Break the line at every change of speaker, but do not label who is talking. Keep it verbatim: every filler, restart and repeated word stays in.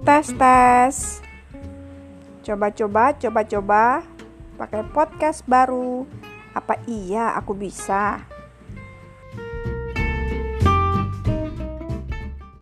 Tes tes. Coba-coba, coba-coba pakai podcast baru. Apa iya aku bisa?